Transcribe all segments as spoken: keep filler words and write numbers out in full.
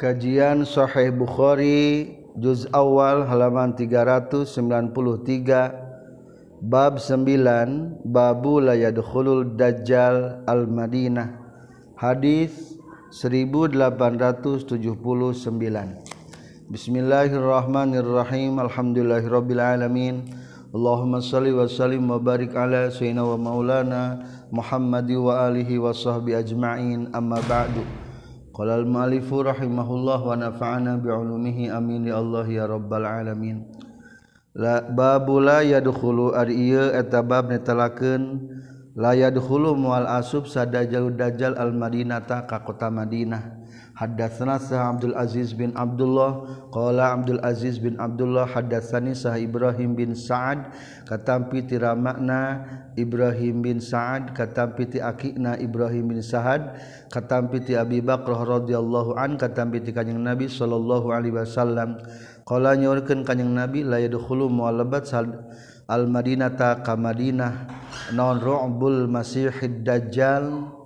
Kajian Sahih Bukhari juz awal halaman tiga ratus sembilan puluh tiga, bab sembilan, babu la yadkhulul dajjal al-Madinah, hadis seribu delapan ratus tujuh puluh sembilan. Bismillahirrahmanirrahim. Alhamdulillahirabbil alamin. Allahumma shalli wa sallim wa barik ala sayyidina wa maulana Muhammadi wa alihi wa sahbi ajma'in, amma ba'du. Qala al-mu'allifu rahimahullah wa nafa'ana bi'ulumihi amin ya Allah ya rabbal alamin. La babu la yadkhulu ari ieu eta bab netelakeun la yadkhulu mual asub sadajal dajjal al-Madinata ka kota Madinah. Haddatsana Sah Abdul Aziz bin Abdullah qala Abdul Aziz bin Abdullah haddatsani Sah Ibrahim bin Sa'ad katampi ti ramakna Ibrahim bin Sa'ad katampi ti akina Ibrahim bin Sa'ad katampi ti Abi Bakrah radhiyallahu an katampi ti Kanjeng Nabi sallallahu alaihi wasallam qala nyorkeun Kanjeng Nabi la yadkhulu mu'alabat al Madinata ka Madinah naon ru'bul masihid dajjal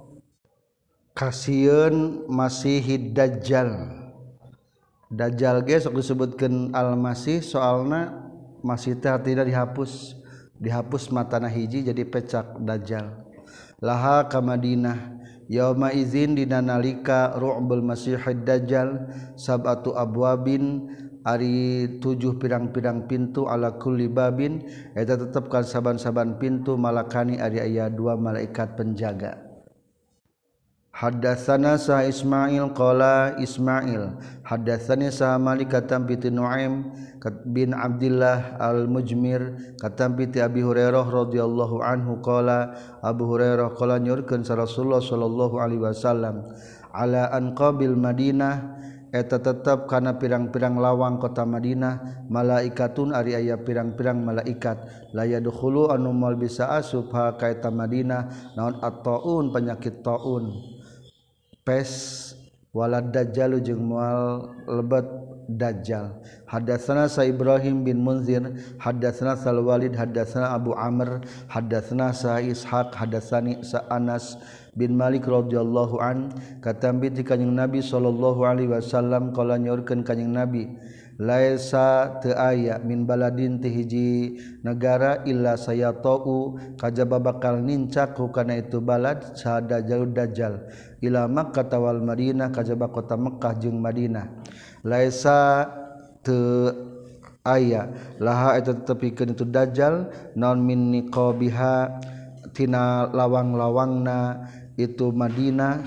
kasieun masihid dajjal. Dajjal ge sok disebutkeun al-masih soalna masih teh artina dihapus dihapus matana hiji jadi pecak dajjal. Laha ka Madinah yauma izin dina nalika ru'bul masihid dajjal sab'atu abwabin ari tujuh pirang-pirang pintu ala kulli babin eta tetepkan saban-saban pintu malakani ari aya dua malaikat penjaga. Haddatsana Sa Ismail qala Ismail haddatsani Sa Malik katampi ti Nuaim bin Abdullah al-Mujmir katampi ti Abi Hurairah radhiyallahu anhu qala Abu Hurairah qala nyurkeun sa Rasulullah sallallahu alaihi wasallam ala anqabil Madinah eta tetep kana pirang-pirang lawang kota Madinah malaikatun ari aya pirang-pirang malaikat la yadkhulu anu moal bisa asup ha ka eta Madinah naon at-taun penyakit taun pes walad dajjal jeung moal lebat dajjal. Haddatsana Sa Ibrahim bin Munzir haddatsana Sal Walid haddatsana Abu Amr haddatsana Sa Ishaq haddatsani Sa Anas bin Malik radhiyallahu an katambi ti Kanjeng Nabi sallallahu alaihi wasallam qala nyorkeun Kanjeng Nabi laisa teu aya min baladin ti hiji negara illa sayatau kajaba bakal nincak kana itu balad sada jalud dajjal ila Makkah wal Madinah kajaba kota Mekkah jeung Madinah. Laisa teu aya laha eta tetepikeun itu dajjal naon min niqabiha tina lawang-lawangna itu Madinah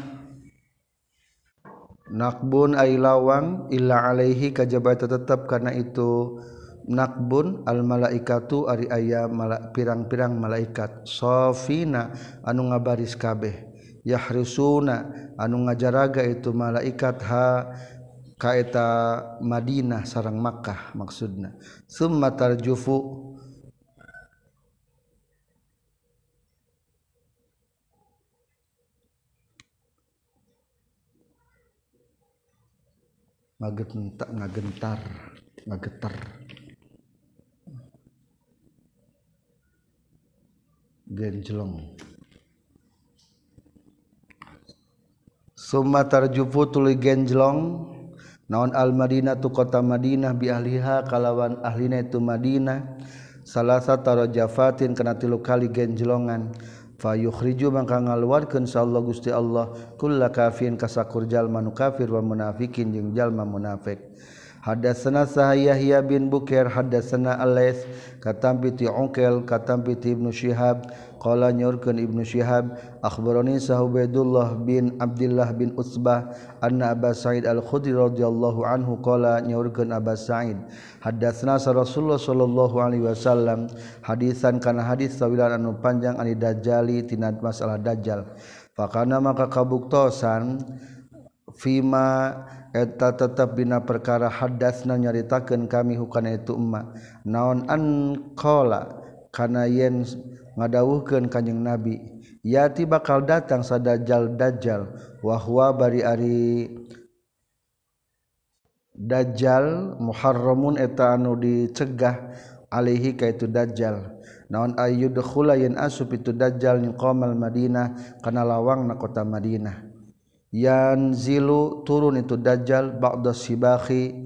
nakbun ay lawang illa alaihi kajaba tetap karena itu nakbun al malaikatu ari aya mala, pirang-pirang malaikat safina anu ngabaris kabeh yahrisuna anu ngajaraga itu malaikat ha ka eta Madinah sareng Makkah maksudna summa tarjufu ngagentar ngagentar ngagetar genjlong summa tarjufu tuluy genjlong naon al Madinah tu kota Madinah bi ahliha kalawan ahlina itu Madinah salasa tarajafatin kana tilu kali genjlongan fa yukhriju mangka ngaluarkeun sallallahu Gusti Allah kulla kafirin kasakur jalma nu kafir wa munafikin jeung jalma munafik. Haddatsana Yahya bin Bukair haddatsana Al-Laits katampi ti Uqail katampi ti Ibnu Syihab qala nyorkeun Ibnu Syihab akhbarani Ubaidullah bin Abdullah bin Utsbah anna Aba Sa'id Al-Khudri radhiyallahu anhu qala nyorkeun Aba Sa'id haddatsana Rasulullah sallallahu alaihi wasallam hadisan kana hadis sawilan anu panjang ani dajjali tina masalah dajjal fakana maka kabuktosan fima eta tetap dina perkara haddatsna nyaritakeun kami hukana itu umma naon an qala kana yen ngadawuhkeun Kanjeng Nabi yati bakal datang sadajjal dajjal wa huwa bari ari dajjal muharramun eta anu dicegah alaihi ka itu dajjal naon ayyudkhula yen asup itu dajjal ni qomal Madinah kana lawangna kota Madinah yanzilu turun itu dajjal ba'da sibakhi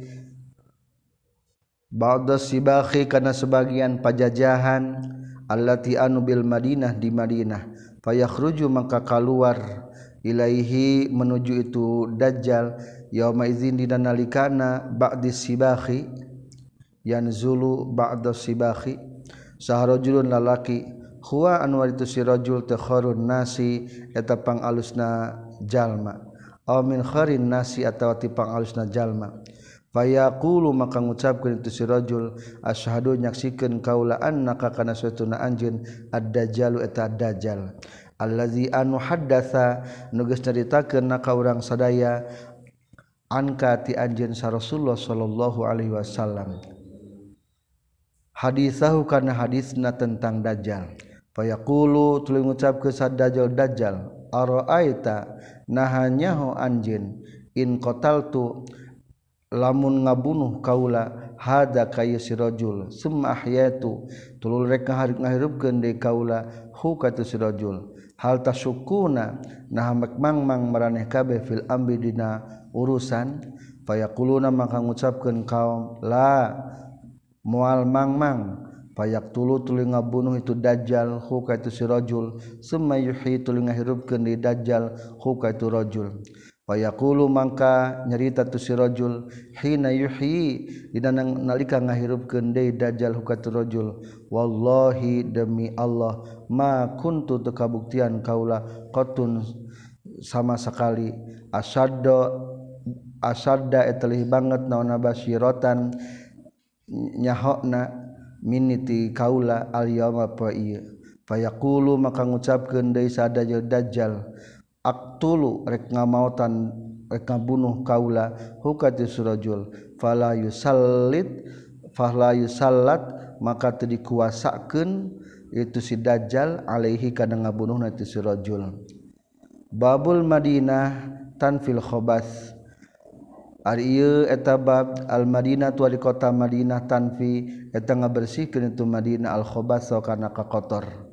ba'da sibakhi kana sebagian pajajahan allati anu bil Madinah di Madinah fayakhruju maka keluar ilaihi menuju itu dajjal yauma idzin dina nalikana ba'di sibakhi yanzulu ba'da sibakhi saharajulun lalaki huwa anwar itu si rajul takharun nasi eta pangalusna jalma aw min kharin nasi atawa ti pangalusna jalma fayaqulu maka ngucapkeun itu si rajul asyhadu nyaksikeun kaula annaka kana satuna anjeun ad-dajjalu eta ad-dajjal allazi anu haddatsa nu geus nyaritakeun ka urang sadaya anka ti anjeun sa Rasulullah sallallahu alaihi wasallam hadisahu kana hadisna tentang dajjal fayaqulu tuluy ngucapkeun sa dajjal dajjal araaita nahanyahu anjeun in qataltu lamun ngabunuh kaula hada kaya si rajul summa ahyatu tulul rek ngahirupkeun deui kaula hu ka tu si rajul hal tasukuna nah mangmang maraneh kabeh fil amri dina urusan fayaquluna maka ngucapkeun kaum la moal mangmang fayaktulu tuluy ngabunuh itu dajjal hu ka tu si rajul summa yuhyi tuluy ngahirupkeun deui dajjal hu ka tu rajul fayaqulu mangka nyarita tu si rajul hina yuhyi dina nalika ngahirupkeun deui dajjal hukatu rajul wallahi demi Allah ma kuntu teu kabuktian kaula qatun sama sekali asadda asadda etelih banget naonna basyiratan nyahokna miniti kaula al yauma fa ieu fayaqulu maka ngucapkeun deui sa dajjal dajjal aqtulu rek ngamautan rek ngabunuh kaula hukati surajul fala yusallit fala yusallat maka teu dikuasakeun itu si dajjal alaihi kana ngabunuhna itu surajul babul madinah tanfil khabas ari ieu eta bab al madinah tu di kota Madinah tanfi eta ngabersihkeun itu Madinah al khabas kana kakotor.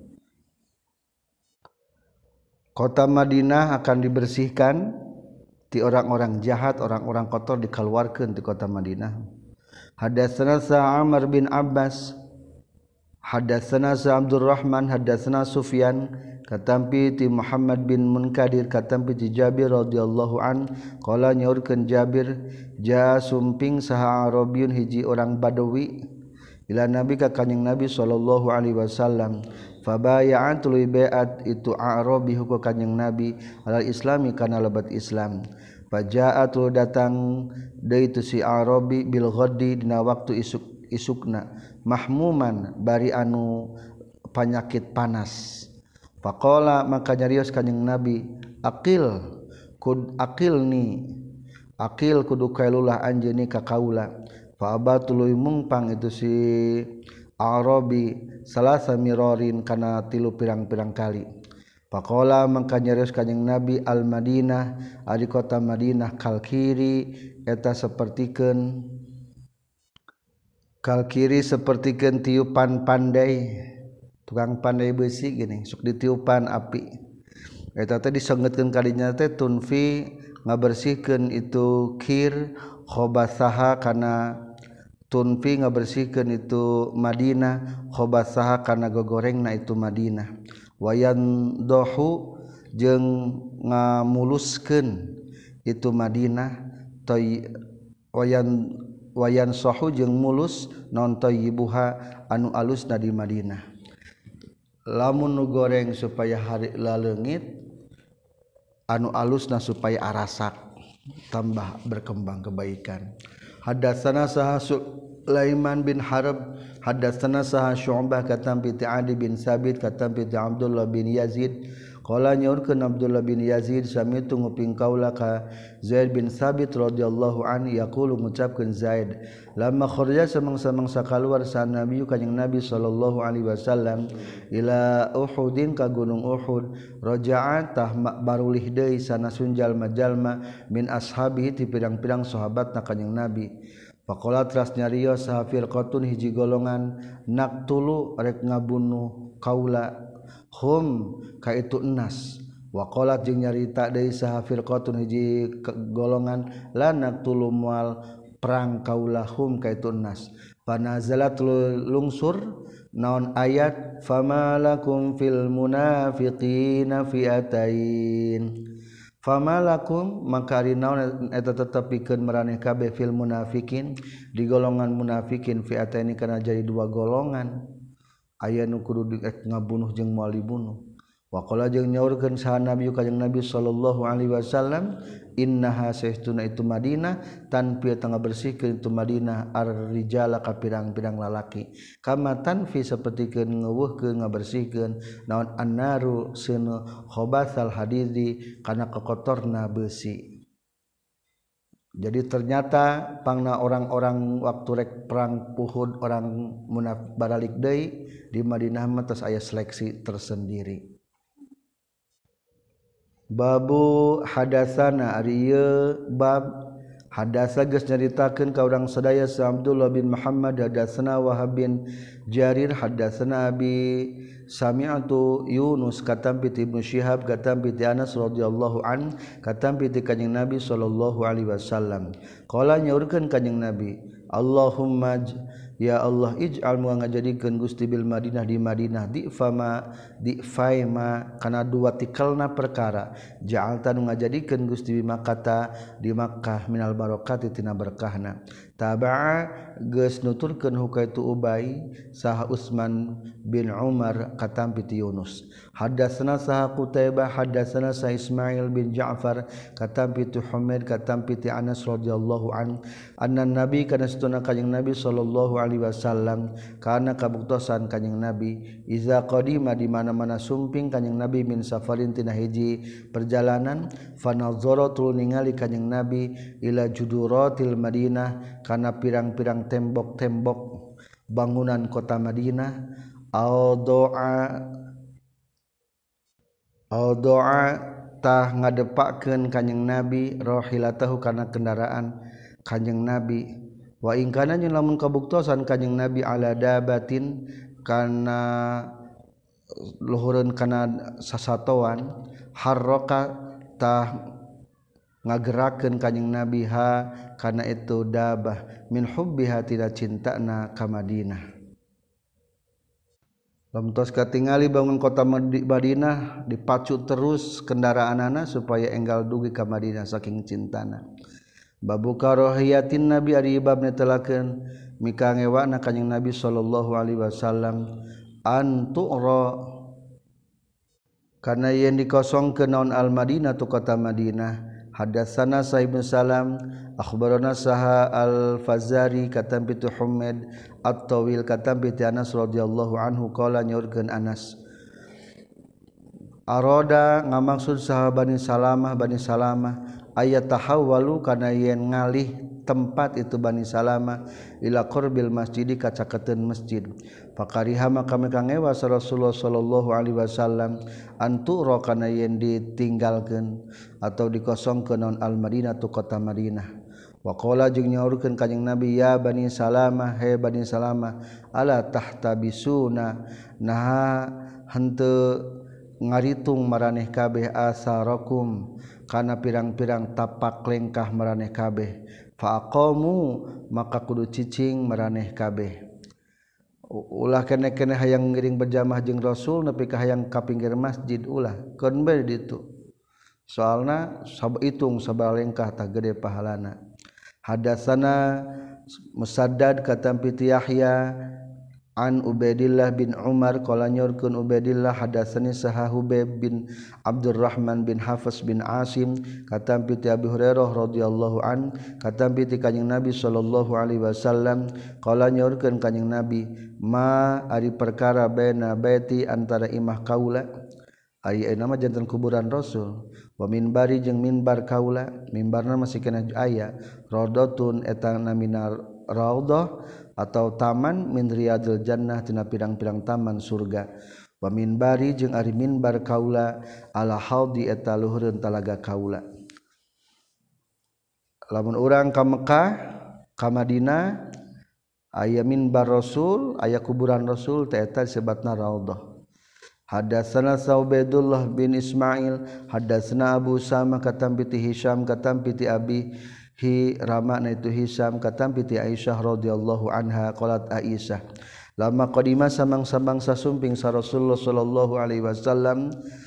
Kota Madinah akan dibersihkan ti orang-orang jahat, orang-orang kotor dikeluarkan di kota Madinah. Hadatsana Amr bin Abbas, hadatsana Abdurrahman, hadatsana Sufyan, katampi ti Muhammad bin Munkadir, katampi ti Jabir radhiyallahu an, qala nyaurkeun Jabir, ja sumping saha Arabiun hiji orang Badawi ila Nabi ka kanjing Nabi sallallahu alaihi wasallam. Fabaya'an tuluy bai'at itu Arabi hukum kanjing Nabi alal islami kana lebat Islam. Faja'a tuluy datang deui itu si Arabi bil ghaddi dina waktu isuk isukna mahmuman bari anu panyakit panas. Faqala maka nyarios kanjing Nabi aqil kud aqilni aqil kudu kailulah anjeuni ka kaula. Fa abatuluy mungpang itu si Arabi salasa mirorin kana tilu pirang-pirang kali. Faqala mangka nyarios kanjing Nabi al Madinah ari kota Madinah kalkiri eta sapertikeun kalkiri sapertikeun tiupan pandai tukang pandai besi gini sok ditiupan api eta teh disenggetkeun kadinya teh tunfi ngabersihkeun itu kir khobasaha kana tunfi ngabersihkeun itu Madinah khobasaha kana gogorengna itu Madinah wayan dohu jeung ngamuluskeun itu Madinah toy wayan wayan sohu jeung mulus non toyibuha anu alusna di Madinah lamun nu goreng supaya hari laleungit anu alusna supaya arasak tambah berkembang kebaikan. Hadatsana saha Sulaiman bin Harb hadatsana saha Syu'bah katampi ti Adi bin Sabit katampi ti Abdullah bin Yazid qala nyaurkeun Abdullah bin Yazid samitu nguping kaula ka Zaid bin Sabit radhiyallahu anhu yaqulu ngucapkeun Zaid lamma kharaja samangsa-mangsa kaluar sa Nabi kanjing Nabi sallallahu alaihi wasallam ila Uhudin ka gunung Uhud raja'a tah barulih deui sanasun jalma-jalma min ashabi ti pirang-pirang sahabatna kanjing Nabi faqala teras nyarios sahafir qatun hiji golongan naqtulu rek ngabunuh kaula hum ka itu enas Waqalat jeung nyarita deui saha firqatun hiji golongan la naqtulu moal perang kaulahum kaitun nas panazalat lungsur naon ayat famalakum fil munafiqina fiatain famalakum maka ari naon eta tetep pikeun maraneh kabeh fil munafiqin di golongan munafikin fiataini kana jadi dua golongan aya nu kudu ngabunuh jeung moal dibunuh waqala jeung nyaurkeun saha nabi ka jeung nabi sallallahu alaihi wasallam innaha saestuna itu Madinah tanpi tengah bersihkeun itu Madinah ar-rijala ka pirang-pirang lalaki kama tanfi sapertikeun ngeuweuhkeun ngabersihkeun naon annaru sunu khabatsal hadidi kana kokotorna besi. Jadi ternyata pangna orang-orang waktu rek perang Uhud orang munafik baralik deui di Madinah mah tos aya seleksi tersendiri. Babu hadasana ari ieu bab hadasa geus nyaritakeun ka urang sadaya sa Abdullah bin Muhammad hadasana Wahab bin Jarir hadasana Abi sami'tu Yunus katam piti Ibnu Syihab katam piti Anas radhiyallahu an katam piti kanjing Nabi sallallahu alaihi wasallam qala nyaurkeun kanjing Nabi Allahumma ya Allah ij'al mu ngajadikeun Gusti bil Madinah di Madinah di fama di faima kana dua tikelna perkara ja'alta nu ngajadikeun Gusti bi Makkah di Makkah minal barokati tina berkahna taba'a geus nuturkeun hukaitu Ubay saha Utsman bin Umar katam piti Yunus hadatsana saha Qutaibah hadatsana saha Ismail bin Ja'far katam piti Humaid katam piti Anas radhiyallahu an anna nabi kana satuna kanjing Nabi sallallahu alaihi wasallam kana kabuktosan kanjing Nabi iza qadima di mana-mana sumping kanjing Nabi min safarin tina hiji perjalanan fanazara tul ningali kanjing Nabi ila juduratil Madinah kana pirang-pirang tembok-tembok bangunan kota Madinah au doa au doa tah ngadepakeun kanjing Nabi rahilatahu kana kendaraan kanjing Nabi wa in kana nya lamun kabuktosan kanjing Nabi ala dabatin kana luhureun kana sasatoan harraka tah ngagerakeun kanjing Nabi ha kana itu dabah min hubbiha tina cintana ka Madinah lamun tos katingali bangun kota Madinah dipacu terus kendaraanana supaya enggal dugi ka Madinah saking cintana. Babu karahiyatin Nabi ari bab netelakeun mika ngewana kanjing Nabi sallallahu alaihi wasallam antu'ra kana yen dikosongkeun naon al Madinah tu kota Madinah hadatsana Sa'ib bin Salam akhbarana saha al Fazari katam pitu Humaid at-Tawil katam pitu Anas radhiyallahu anhu qala nyaurkeun Anas aroda ngamaksud saha Bani Salamah Bani Salamah ayat tahawwalu kana yen ngalih tempat itu Bani Salamah ila qurbil masjidi ka caketeun masjid faqariha maka mekangewa Rasulullah sallallahu alaihi wasallam antura kana yen ditinggalkeun atau dikosongkeun naon al Madinah tu kota Madinah wa qala jeung nyaurkeun kanjing Nabi ya Bani Salamah he Bani Salamah ala tahtabisuna nah henteu ngaritung maraneh kabeh asarakum kana pirang-pirang tapak lengkah maraneh kabeh faqamu maka kudu cicing maraneh kabeh ulah kene-kene hayang ngiring berjamaah jeung Rasul nepi ka hayang ka pinggir masjid ulah keun bae ditu soalna sab hitung sabaraha lengkah tah gede pahalana hadatsana Musaddad katam piti Yahya an Ubaidillah bin Umar qala nyorkeun Ubaidillah hadatsani saha Hubayb bin Abdurrahman bin Hafiz bin Asim katam piti Abi Hurairah radhiyallahu an katam piti kanjing Nabi sallallahu alaihi wasallam qala nyorkeun kanjing Nabi ma ari perkara baina baiti antara imah kaula ari aya nama janten kuburan Rasul wa minbari jeung minbar kaula minbarna masih kena aya raudhatun eta namina raudhah atau taman min riyadil jannah tina pirang-pirang taman surga wa minbari jeung ari minbar kaula ala haudi eta luhureun talaga kaula lamun urang ka Mekah ka Madinah aya minbar Rasul aya kuburan Rasul teh eta disebutna raudhah Hadatsana Saubaidullah bin Ismail hadatsana Abu Sama katam piti Hisyam katam piti Abi hi ramana itu Hisyam katam piti Aisyah radhiyallahu anha qalat Aisyah lama qadima samang-samang sasumping sa Rasulullah sallallahu alaihi wasallam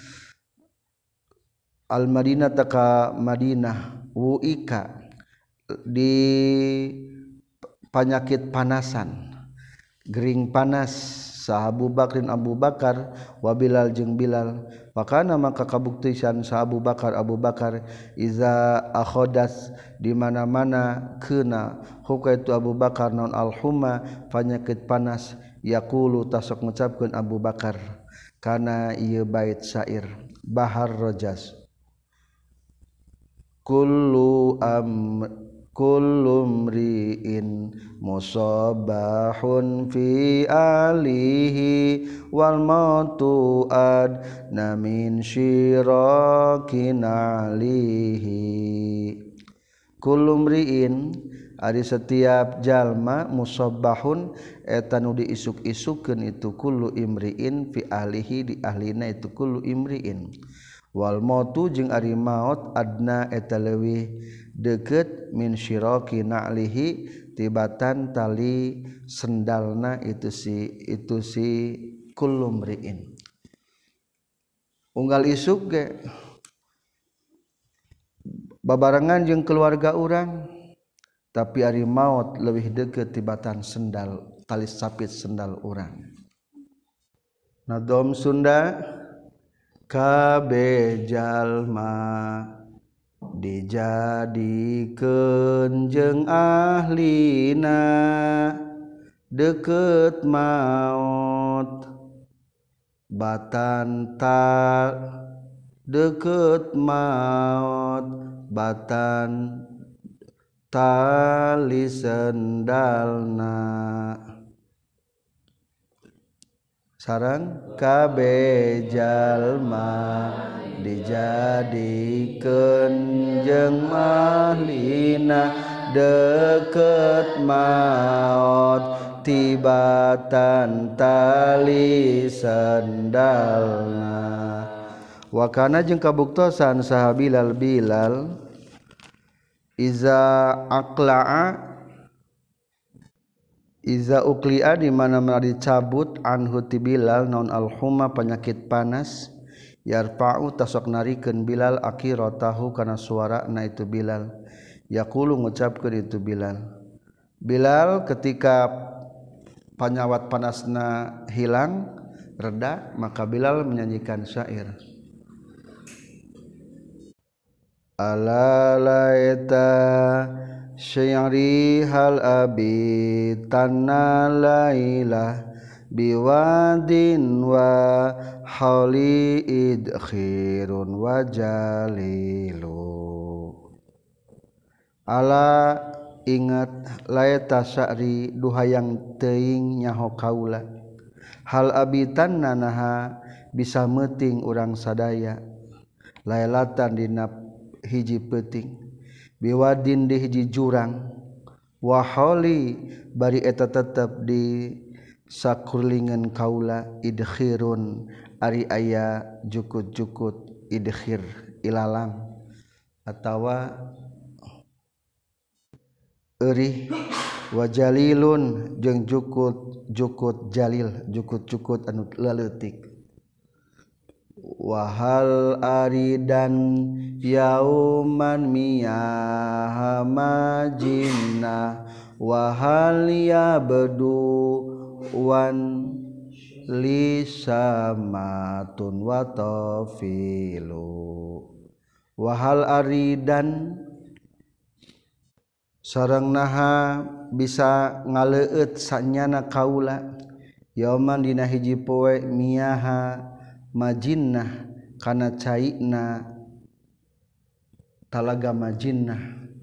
al Madinah taka Madinah wuika di penyakit panasan gering panas sah Abu Bakrin Abu Bakar wa Bilal jeung Bilal pakana maka kabuktisan sah Abu Bakar Abu Bakar iza akhodas di mana-mana keuna hukaitu Abu Bakar naon al-humma penyakit panas yaqulu tasok ngucapkeun Abu Bakar kana ieu bait syair Bahar Rajas kullu am kullu mri'in musabahun fi alihi wal mautu adna min syirakin alihi kullu mri'in ari setiap jalma musabahun eta nu diisuk-isukeun itu kullu imri'in fi ahlihi di ahlina itu kullu imri'in wal mautu jeung ari maut adna eta leuwih deket min syiraki na'lihi tibatan tali sendalna itu si itu si kullu mri'in unggal isuk ge babarengan jeung keluarga urang tapi ari maut leuwih deket tibatan sendal tali sapit sendal urang nadom Sunda kabeh jalma dijadikeun jeung ahlina deket maut batan ta deket maut batan tali sendalna sareng kabeh jalma dijadikeun jeung ahlina deket maut tibatan tali sendalna wa kana jeung kabuktosan saha Bilal Bilal iza aqla'a iza uqli'a di mana-mana dicabut anhu ti Bilal naon al-humma penyakit panas yarfa'u tasok narikeun Bilal akiratahu kana suarana itu Bilal yaqulu ngucapkeun itu Bilal Bilal ketika panyawat panasna hilang reda maka Bilal menyanyikan syair ala laita syairi hal abi tanna laila biwadin wa hauli idkhirun wa jalilu ala ingat laeta sya'ri duhayang teuing nyaho kaula hal abitan nanaha bisa meuting urang sadaya lailatan dina hiji peuting biwadin di hiji jurang wa hauli bari eta tetep di sakurlingan kaula idkhirun ari aya jukut-jukut idkhir ilalang atawa eurih wa jalilun jeung jukut-jukut jalil jukut-jukut anu leutik wahal aridan yauman miyah majinna wahal yabdu wan lisamatun wa tafilu wahal aridan sareng naha bisa ngaleueut sanyana kaula yauman dina hiji poe miyaha majinnah kana caina talaga majinnah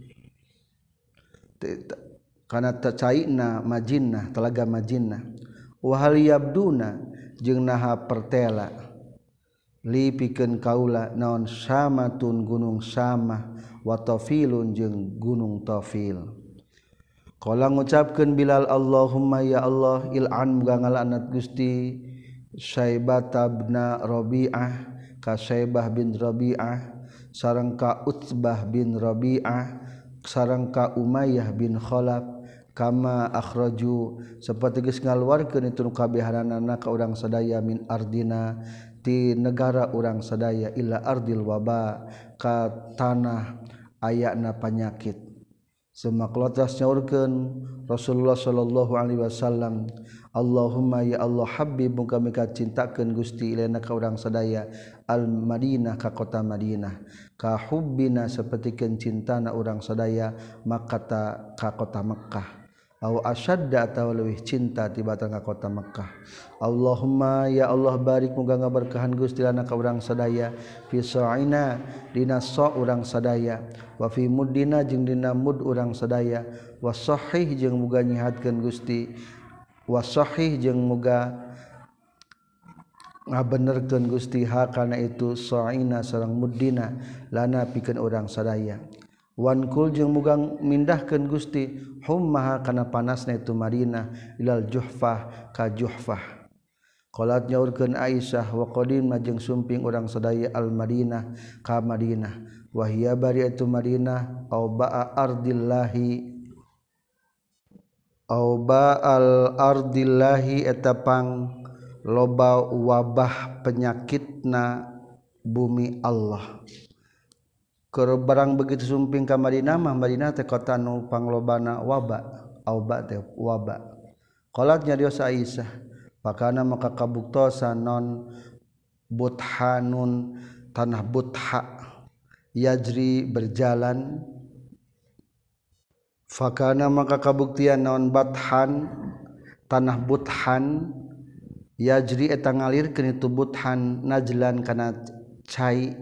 kana caina majinnah talaga majinnah wa hal yabduna jeung naha pertela li pikeun kaula naon samatun gunung samah wa tafilun jeung gunung tafil qala ngucapkeun Bilal Allahumma ya Allah il'an muga ngalaknat Gusti Syaibah bin Rabi'ah ka Syaibah bin Rabi'ah sareng ka Utsbah bin Rabi'ah sareng ka Umayyah bin Khalaf kama akhraju saperti geus ngaluarkeun itu kabehanana ka urang sadaya min ardina ti negara urang sadaya illa ardil waba ka tanah ayana panyakit. Semaklotas nyaurkeun Rasulullah sallallahu alaihi wasallam, Allahumma ya Allah habib kami kacintakeun Gusti ilaina ka urang sadaya al Madinah ka kota Madinah ka hubbina sapertikeun cintana urang sadaya Makkah ka kota Mekkah aw asyadda atawa leuwih cinta tibatan ka kota Mekkah. Allahumma ya Allah barik muga ngaberkahan Gusti lana ka urang sadaya fi sa'ina dina sa urang sadaya wa fi muddina jeung dina mud urang sadaya wa sahih jeung muga nyihatkeun Gusti wa sahih jeung muga ngabenerkeun Gusti ha kana itu sa'ina sareng muddina lana pikeun urang sadaya. Wankul jeung muga mindahkeun Gusti hummaha kana panasna itu Madinah ilal Juhfah ka Juhfah. Qalat nyaurkeun Aisyah wa qadim jeung sumping urang sadaya al Madinah ka Madinah wa hiya bari itu Madinah au ba'a ardillahi au ba'al ardillahi eta pang loba wabah penyakitna bumi Allah. Keur barang begitu sumping ka Madinah mah Madinah teh kota nu panglobana waba auba teh waba. Qalat nyarios Aisyah pakana maka kabuktosan non buthanun tanah butha yajri berjalan fakana maka kabuktian non bathan tanah buthan yajri eta ngalirkeun itu buthan najlan kana cai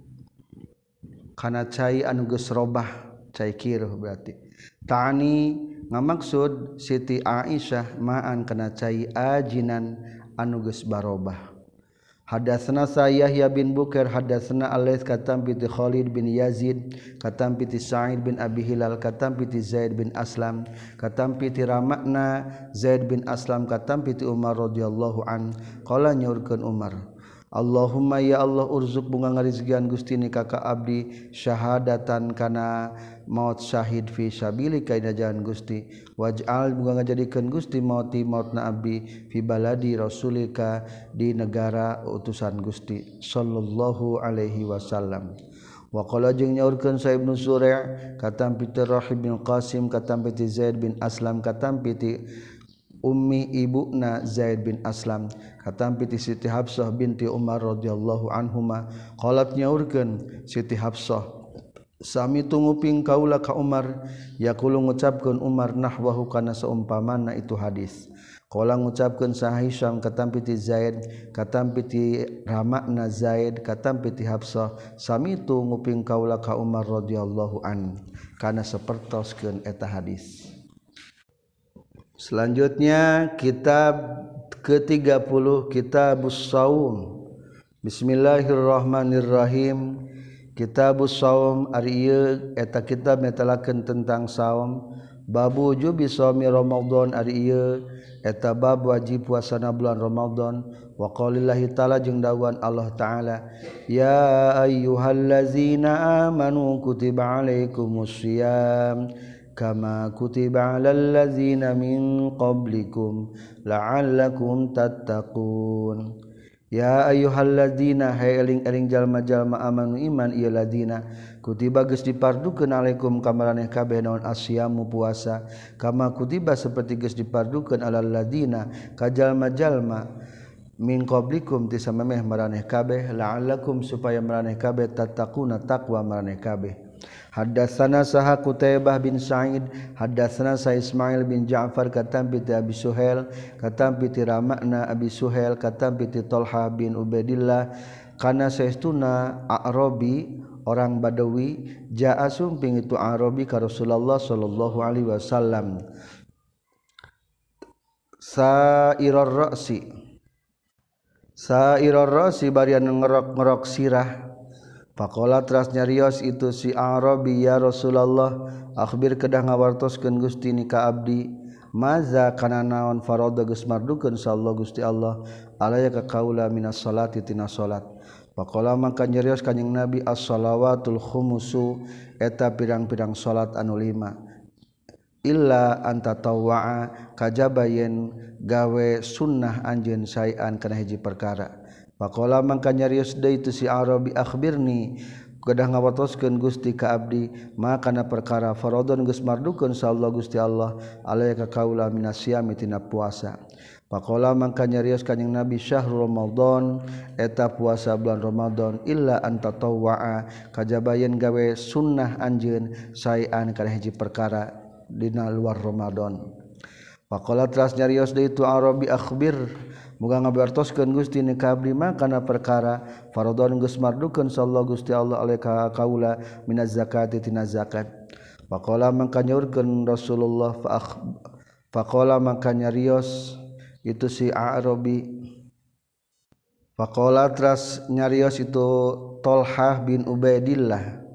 kana cai anu geus robah cai kiruh berarti ta'ani ngamaksud Siti Aisyah ma'an kana cai ajinan anu geus barobah. Hadatsana Yahya bin Bukair hadatsana Al-Laits katam piti Khalid bin Yazid katam piti Sa'id bin Abi Hilal katam piti Zaid bin Aslam katam piti Ramakna Zaid bin Aslam katam piti Umar radhiyallahu an qala nyaurkeun Umar Allahumma ya Allah urzuk bunga ngarizkian Gusti ni kaka abdi syahadatan kana maut syahid fi sabilika ina jalan Gusti waj'al bunga ngajadikeun Gusti mauti mautna abdi fi baladi rasulika di negara utusan Gusti sallallahu alaihi wasallam. Wa qala jeung nyaurkeun Sa'ib bin Suri' katam piti Rahib bin Qasim katam piti Zaid bin Aslam katam piti ummi ibuna Zaid bin Aslam katam piti Siti Hafsah binti Umar radhiyallahu anhuma qalat nyaurkeun Siti Hafsah sami tunguping kaula ka Umar yaqulu ngucapkeun Umar nahwahu kana saumpamana itu hadis qala ngucapkeun sa Hisyam katam piti Zaid katam piti Ramakna Zaid katam piti Hafsah sami tunguping kaula ka Umar radhiyallahu an kana sapertoskeun eta hadis. Selanjutnya kitab ke tiga puluh Kitabus Shaum. Bismillahirrahmanirrahim. Kitabus Shaum ari ieu eta kitab netelakeun tentang saum. Babu wujubi shaumi Ramadan ari ieu eta bab wajib puasana bulan Ramadan. Wa qaulillahi ta'ala jeung dawuhan Allah taala ya ayyuhallazina amanu kutiba alaikumus syiyam kama kutiba alal ladzina min qablikum la'allakum tattaqun. Ya ayyuhalladzina hay eling-eling jalma-jalma amanu iman ieu ladina kutiba geus dipardukeun alaikum ka maraneh kabeh naon asyamu puasa kama kutiba saperti geus dipardukeun alal ladzina ka jalma-jalma min qablikum ti samemeh maraneh kabeh la'allakum supaya maraneh kabeh tattaquna taqwa maraneh kabeh. Hadatsana saha Qutaibah bin Sa'id hadatsana sa Ismail bin Ja'far katam piti Abi Suhail katam piti Ramakna Abi Suhail katam piti Talha bin Ubaidillah kana saestuna Arabi orang Badawi jaa sumping itu Arabi ka Rasulullah sallallahu alaihi wasallam sa'irar ra'si sa'irar ra'si barian ngerok-ngerok sirah. Faqala teras nyarios itu si Arabi ya Rasulullah akhbir kedah ngawartoskeun Gusti ni ka abdi maza kana naon farada geus mardukeun sallallahu Gusti Allah alaya ka kaula minas salati tina salat faqala maka nyarios kanjing Nabi as-shalawatul khumusu eta pirang-pirang salat anu lima illa anta tawwa'a kajaba yen gawe sunnah anjeun saean kana hiji perkara faqala mangka nyarios deui tu si Arabi akhbirni gadah ngawatoskeun Gusti ka abdi maka kana perkara faradon geus mardukeun sallallahu Gusti Allah alaya ka kaula minasyami tina puasa faqala mangka nyarios kanjing Nabi syahrul ramadan eta puasa bulan Ramadan illa anta tawwa'a kajaba yen gawe sunnah anjeun saean kana hiji perkara dina luar Ramadan faqala teras nyarios deui tu Arabi akhbir muga ngabartoskeun Gusti ni ka abdi mah kana perkara faradon geus mardukeun sallallahu Gusti Allah alaiha kaula minaz zakati tina zakat faqala mangka nyaurkeun Rasulullah fa faqala mangka nyarios itu si Arabi faqala teras nyarios itu Tolhah bin Ubaidillah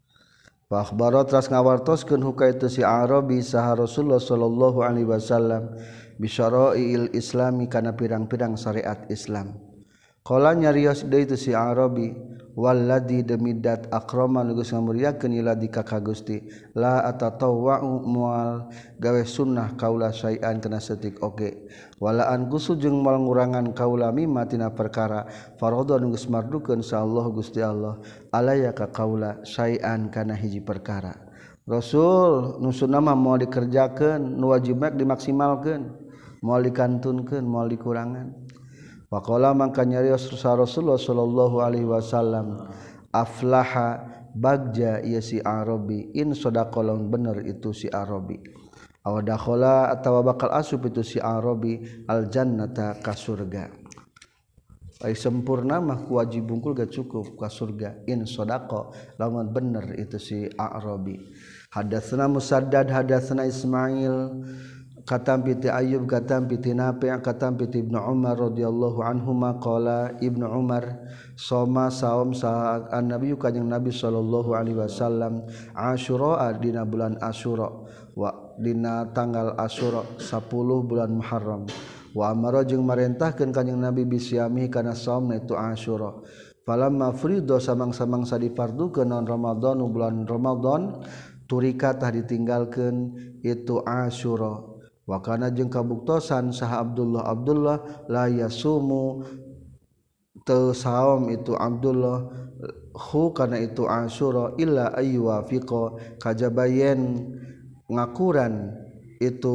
fa akhbara teras ngawartoskeun huka itu si Arabi saha Rasulullah sallallahu alaihi wasallam bi syara'il islami kana pirang-pirang syariat Islam qala nyarios deui itu si Arabi walladzi demidat akrama nugus ngamuryakeun ila dika ka Gusti la atatawwa'u mual gawe sunnah kaula saean kana setik oge wala an gusu jeung moal ngurangan kaula mimma tina perkara faradha nugus mardukeun insyaallah Gusti Allah alaya ka kaula saean kana hiji perkara Rasul nu sunnah mah moal dikerjakeun nu wajib mak dimaksimalkeun moal dikantunkeun moal dikurangan faqala mangka nyarios Rasulullah sallallahu alaihi wasallam aflaha bagja ieu si Arabi in sadaqa lamun bener itu si Arabi aw dakhala atawa bakal asup itu si Arabi al jannata ka surga ai sempurna mah wajib bungkul gak cukup ka surga in sadaqa lamun bener itu si Arabi hadatsana Musaddad hadatsana Ismail katam piti Ayyub katam piti Nafi' katam piti Ibnu Umar radhiyallahu anhuma qala Ibnu Umar soma saum sa an-nabi kanjing Nabi sallallahu alaihi wasallam Asyura dina bulan Asyura wa dina tanggal Asyura sepuluh bulan Muharram wa amara jeung marentahkeun kanjing Nabi bisyami kana saum itu Asyura falamma fridho samang-samang sadifardukeun naon Ramadan bulan Ramadan turika tah ditinggalkeun itu Asyura wa kana jeung kabuktosan saha Abdullah Abdullah la yasumu teu saum itu Abdullah hu kana itu Asyura illa ayyuwafiqa kajabayen ngakuran itu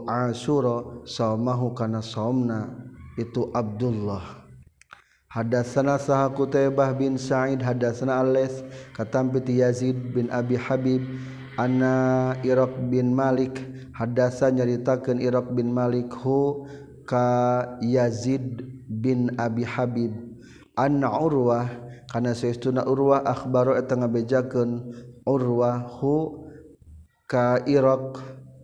Asyura saumahu kana saumna itu Abdullah hadatsana saha Qutaibah bin Sa'id hadatsana Al-Laits katam piti Yazid bin Abi Habib anna Iraq bin Malik hadasa nyaritakeun Iraq bin Malik hu ka Yazid bin Abi Habib anna Urwah kana saestuna Urwah akhbaro eta ngabejakeun Urwah hu ka Iraq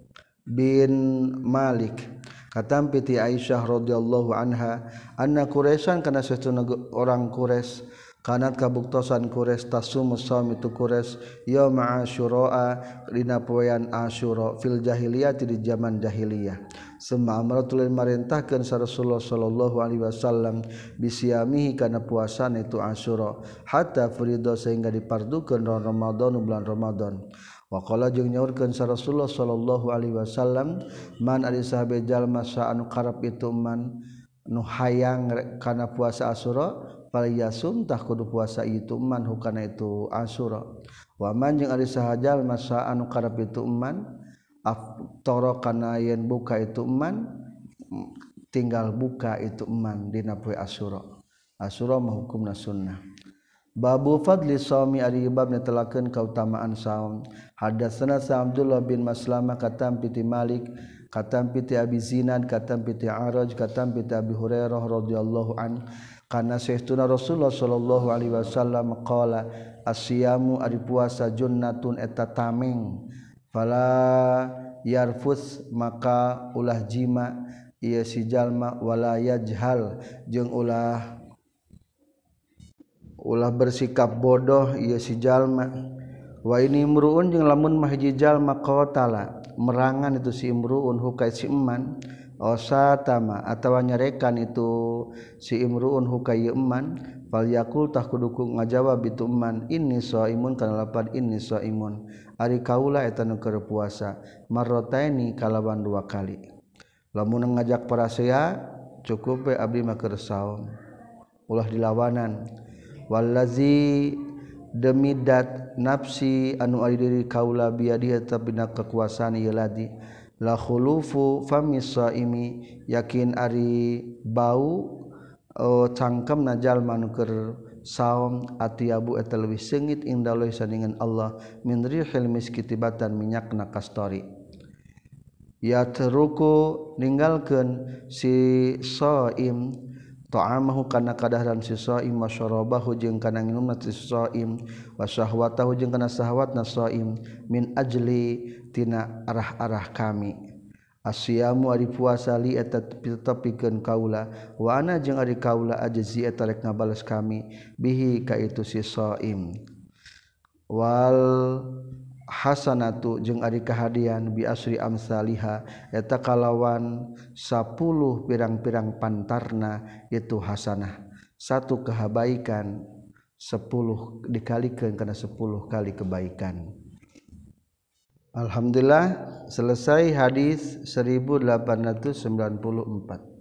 bin Malik katam piti Aisyah radhiyallahu anha anna Quraisyan kana saestuna orang Quraisy kanat kabuktosan Quraisy tasumus saum itu Quraisy yaum Asyura dina poean Asyura fil jahiliyah di zaman jahiliyah summa amratul marintahkeun sa Rasulullah sallallahu alaihi wasallam bisyamihi kana puasana itu Asyura hatta furido sehingga dipardukeun Ramadan bulan Ramadan wa qala jeung nyaurkeun sa Rasulullah sallallahu alaihi wasallam man ari sahabe jalma sa anu karep itu man nu hayang kana puasa Asyura falyasum tah kudu puasa itu man hukana itu Asyura wa man jeung ari sahajal masa anu karep itu man aftara kana yen buka itu man tinggal buka itu man dina poe Asyura Asyura mah hukumna sunnah babu fadli shaumi ari bab netelakeun kautamaan saum hadatsana sa Abdullah bin Maslamah katam piti Malik katam piti Abi Zinad katam piti Araj katam piti Abi Hurairah radhiyallahu an kana saestuna Rasulullah sallallahu alaihi wasallam qala asyamu ari puasa junnatun eta tameng fala yarfus maka ulah jima ieu si jalma wala yajhal jeung ulah ulah bersikap bodoh ieu si jalma wa ini imruun jeung lamun mah hiji jalma qatala merangan itu si imruun hukai si eman osa tama atawa nyerekan itu si imruun hukayman fal yakul tah kudu ngajawab itu man inni shaimun kana lapan inni shaimun ari kaula eta nu keur puasa marrataini kalawan dua kali lamun ngajak parasea cukup we abdi mah keur saum ulah dilawanan wallazi demi dat nafsi anu ari diri kaula biadihi tabina kekuasaan ieu ladi la khulufu famis saimi yakin ari bau oh, cangkemna jalma nu keur saum atiabu eta leuwih seungit indallah sandingan Allah min rihil miskitibatan minyakna kastori ya teruku ninggalkeun si shaim ta'amahu kana kadaharan si shaim wa syarabahu jeung kana nginumna si shaim wa syahwatahu jeung kana syahwatna shaim min ajli tina arah-arah kami asyamu ari puasa li eta tetepikeun kaula wa ana jeung ari kaula ajzi eta rek ngabales kami bihi ka itu si shaim wal hasanatu jeung ari kahadian bi asri amsalihha eta kalawan sepuluh pirang-pirang pantarna itu hasanah satu kebaikan sepuluh dikalikeun kana sepuluh kali kebaikan. Alhamdulillah selesai hadis seribu delapan ratus sembilan puluh empat.